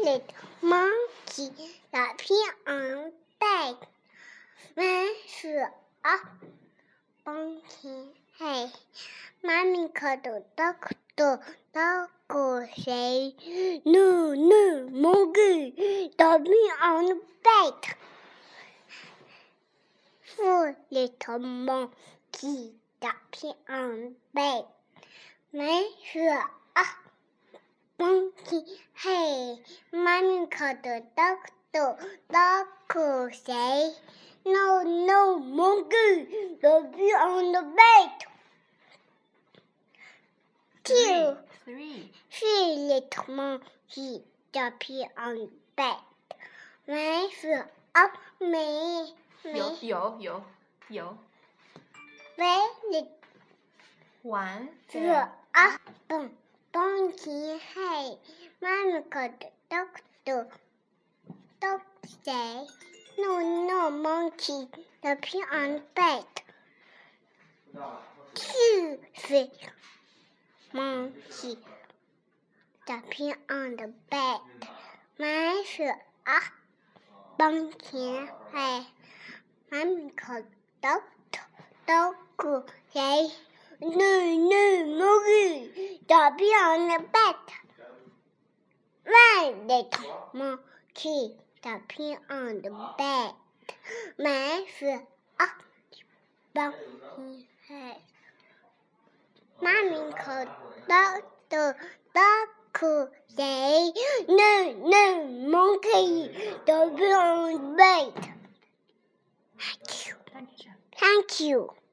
little monkey jumping on bed. When up, pumpkin hay. Mommy called the doctor. Doctor say, no, monkey jumping on bed. 4 little monkey jumping on bed. When up, pumpkin hay. Mommy called the doctor. Doctor say, no, monkey jumping on the bed. 3 little monkey jumping on bed. When up, 有。 When 玩 up, pumpkin hay. Mommy called the doctor. Doctor say, no, monkey jumping on bed. 2 monkey jumping on the bed. When up, pumpkin hay. Mommy called doctor. Doctor say, no, monkey jumping on the bed. 1 little monkey jumping on the bed. When up, pumpkin hay. Mommy called doctor. Doctor say, no, monkey jumping on the bed. Thank you.